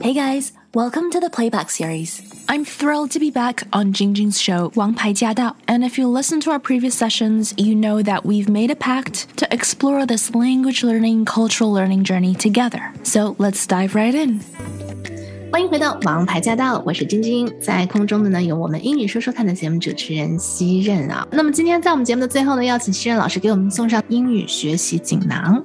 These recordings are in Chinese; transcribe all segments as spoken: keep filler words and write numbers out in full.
Hey guys, welcome to the Playback series. I'm thrilled to be back on Jingjing's show, 王牌驾到. And if you listen to our previous sessions, you know that we've made a pact to explore this language learning, cultural learning journey together. So let's dive right in. 欢迎回到王牌驾到，我是晶晶，在空中的呢有我们英语说说看的节目主持人西任啊。那么今天在我们节目的最后呢，邀请西任老师给我们送上英语学习锦囊。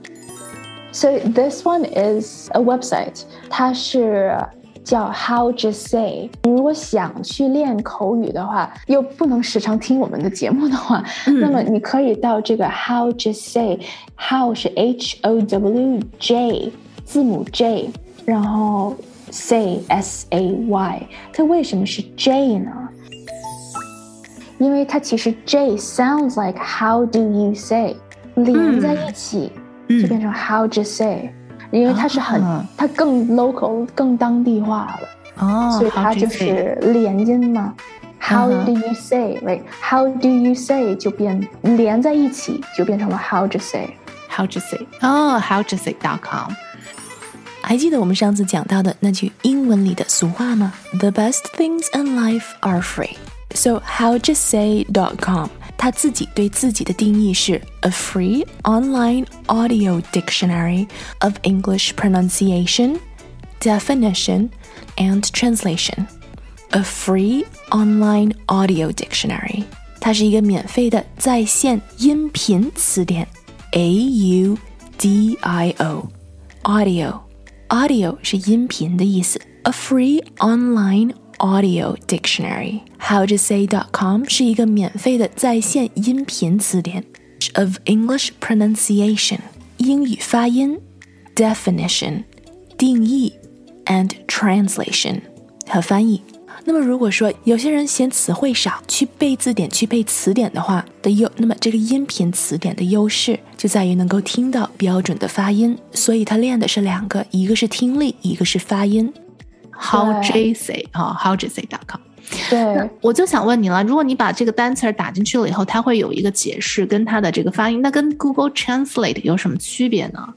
So this one is a website. 它是叫 How Just Say. 你如果想去练口语的话，又不能时常听我们的节目的话，嗯、那么你可以到这个 How Just Say. How 是 H O W J 字母 J， 然后 Say S A Y。它为什么是 J 呢？因为它其实 J sounds like How do you say 连在一起。嗯就变成 How Just Say， 因为它是很、哦、它更 local 更当地化了哦，所以它就是连音嘛。How do you say right How do you say 就变连在一起就变成了 How Just Say How Just Say 哦 How Just Say dot com。 还记得我们上次讲到的那句英文里的俗话吗？ The best things in life are free. So How Just Say dot com他自己对自己的定义是 a free online audio dictionary of English pronunciation, definition, and translation. A free online audio dictionary. 它是一个免费的在线音频词典 A U D I O Audio Audio 是音频的意思 A free online audio dictionary. How Just Say dot com 是一个免费的在线音频词典 of English pronunciation 英语发音 definition 定义 and translation 和翻译。那么如果说有些人嫌词汇少，去背字典去背词典的话的优，那么这个音频词典的优势就在于能够听到标准的发音，所以它练的是两个，一个是听力，一个是发音。 How J Say 啊 How Just Say dot com。 对， 我就想问你了，如果你把这个单词打进去了以后，它会有一个解释跟它的这个发音，那跟 Google Translate 有什么区别呢？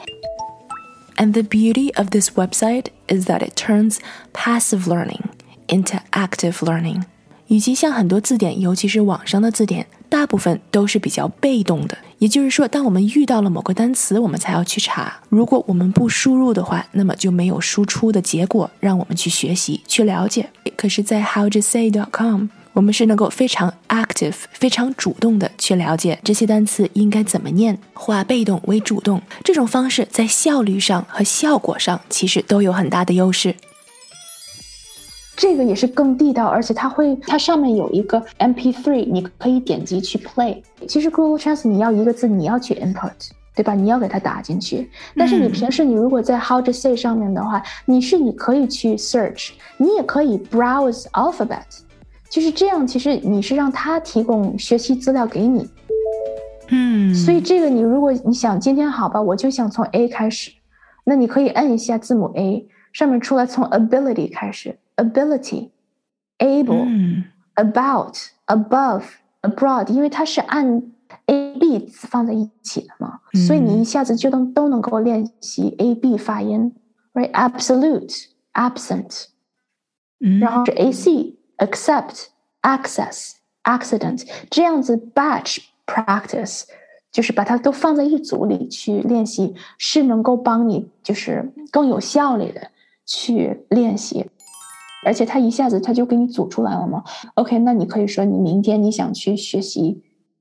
And the beauty of this website is that it turns passive learning into active learning. 与其像很多字典，尤其是网上的字典，大部分都是比较被动的，也就是说当我们遇到了某个单词，我们才要去查，如果我们不输入的话，那么就没有输出的结果让我们去学习去了解。可是在 How Just Say dot com 我们是能够非常 active 非常主动的去了解这些单词应该怎么念，化被动为主动，这种方式在效率上和效果上其实都有很大的优势。 这个也是更地道，而且它会，它上面有一个 M P 三 你可以点击去 play。 其实 Google Translate 你要一个字你要去 input， 对吧？你要给它打进去，但是你平时你如果在 How to Say 上面的话，你是你可以去 search， 你也可以 browse alphabet， 就是这样，其实你是让它提供学习资料给你。 嗯， 所以这个你如果你想今天好吧，我就想从 A 开始，那你可以按一下字母 A， 上面出来从 ability 开始，ability, able、嗯、about, above, abroad， 因为它是按 A、B 字放在一起的嘛、嗯、所以你一下子就能都能够练习 A、B 发音 right? Absolute, absent、嗯、然后是 A C, accept, access, accident， 这样子 batch practice 就是把它都放在一组里去练习，是能够帮你就是更有效率的去练习，而且他一下子他就给你组出来了嘛。 OK， 那你可以说你明天你想去学习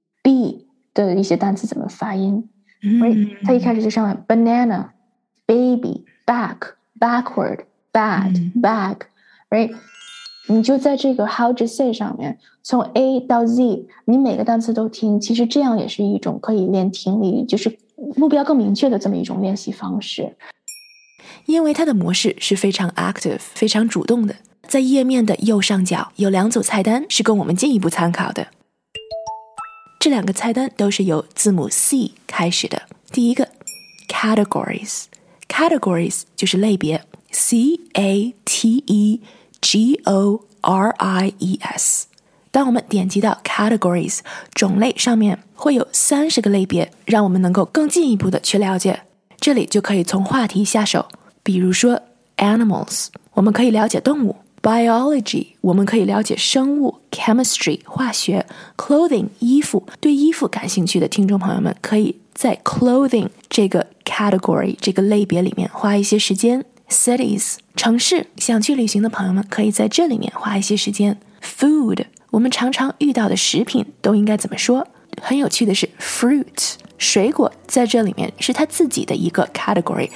B 的一些单词怎么发音、嗯 right? 他一开始就上来 banana, baby, back, backward, bad、嗯、bag right？ 你就在这个 How to Say 上面从 A 到 Z 你每个单词都听，其实这样也是一种可以练听力，就是目标更明确的这么一种练习方式。 因为它的模式是非常 active 非常主动的，在页面的右上角有两组菜单是供我们进一步参考的，这两个菜单都是由字母 C 开始的。第一个 Categories Categories 就是类别 C A T E G O R I E S。 当我们点击到 Categories 种类上面会有三十个类别，让我们能够更进一步的去了解。这里就可以从话题下手，比如说 animals， 我们可以了解动物。Biology， 我们可以了解生物。Chemistry， 化学。Clothing， 衣服。对衣服感兴趣的听众朋友们，可以在 clothing 这个 category 这个类别里面花一些时间。Cities， 城市。想去旅行的朋友们可以在这里面花一些时间。Food， 我们常常遇到的食品都应该怎么说？很有趣的是 fruit， 水果在这里面是它自己的一个 category。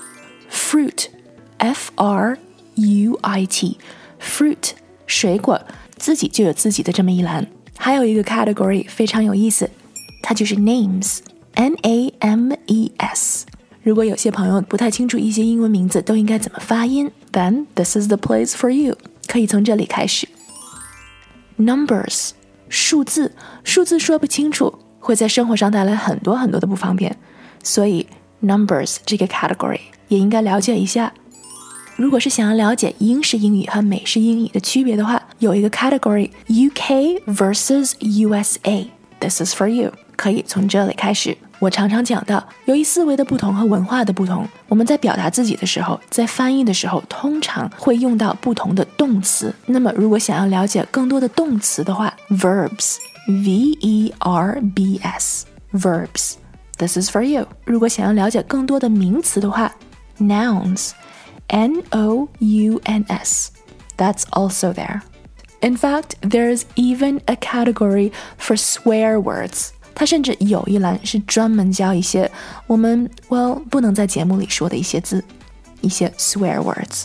Fruit， F R U I T， fruit， 水果自己就有自己的这么一栏。还有一个 category 非常有意思，它就是 names， N A M E S。 如果有些朋友不太清楚一些英文名字都应该怎么发音， then this is the place for you， 可以从这里开始。Numbers， 数字。数字说不清楚会在生活上带来很多很多的不方便，所以 numbers 这个 category 也应该了解一下。如果是想要了解英式英语和美式英语的区别的话，有一个 category U K versus U S A， This is for you， 可以从这里开始。我常常讲到，由于思维的不同和文化的不同，我们在表达自己的时候，在翻译的时候，通常会用到不同的动词。那么如果想要了解更多的动词的话， verbs V E R B S verbs This is for you。 如果想要了解更多的名词的话， nouns N O U N S That's also there. In fact, there's even a category for swear words. 它甚至有一栏是专门教一些我们 well 不能在节目里说的一些字，一些 swear words.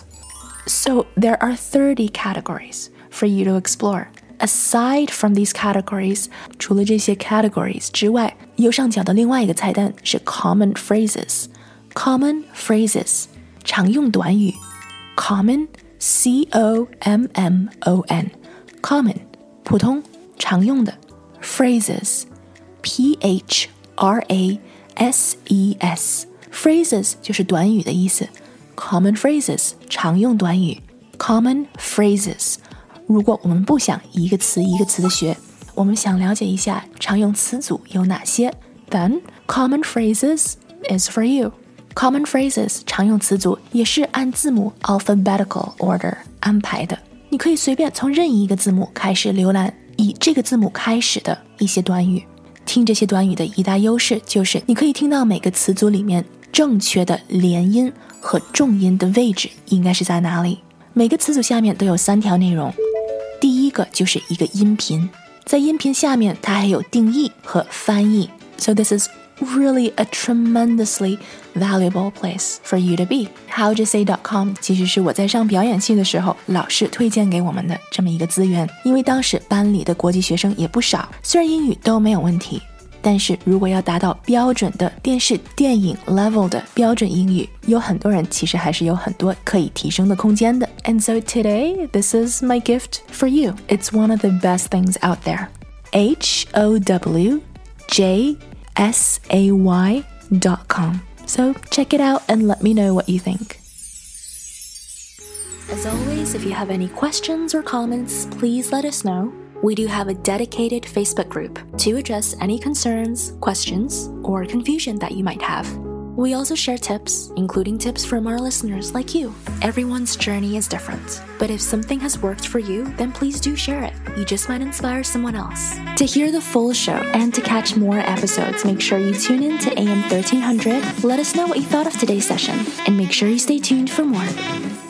So there are thirty categories for you to explore. Aside from these categories, 除了这些 categories 之外，右上角的另外一个菜单是 common phrases. Common phrases 常用短语。 Common C O M M O N Common 普通常用的。 Phrases P H R A S E S Phrases 就是短语的意思。 Common phrases 常用短语。 Common phrases 如果我们不想一个词一个词的学，我们想了解一下常用词组有哪些， then common phrases is for you。 Common phrases 常用词组也是按字母 alphabetical order 安排的，你可以随便从任意一个字母开始浏览以这个字母开始的一些短语。听这些短语的一大优势就是你可以听到每个词组里面正确的连音和重音的位置应该是在哪里。每个词组下面都有三条内容，第一个就是一个音频，在音频下面它还有定义和翻译。 So this is really a tremendously valuable place for you to be. how to say dot com 其实是我在上表演系的时候老师推荐给我们的这么一个资源，因为当时班里的国际学生也不少，虽然英语都没有问题，但是如果要达到标准的电视电影 level 的标准英语，有很多人其实还是有很多可以提升的空间的。 And so today, this is my gift for you. It's one of the best things out there. H O W J S A Y dot com. So check it out and let me know what you think. As always, if you have any questions or comments, please let us know. We do have a dedicated Facebook group to address any concerns, questions, or confusion that you might have. We also share tips, including tips from our listeners like you. Everyone's journey is different, but if something has worked for you, then please do share it. You just might inspire someone else. To hear the full show and to catch more episodes, make sure you tune in to A M thirteen hundred. Let us know what you thought of today's session, and make sure you stay tuned for more.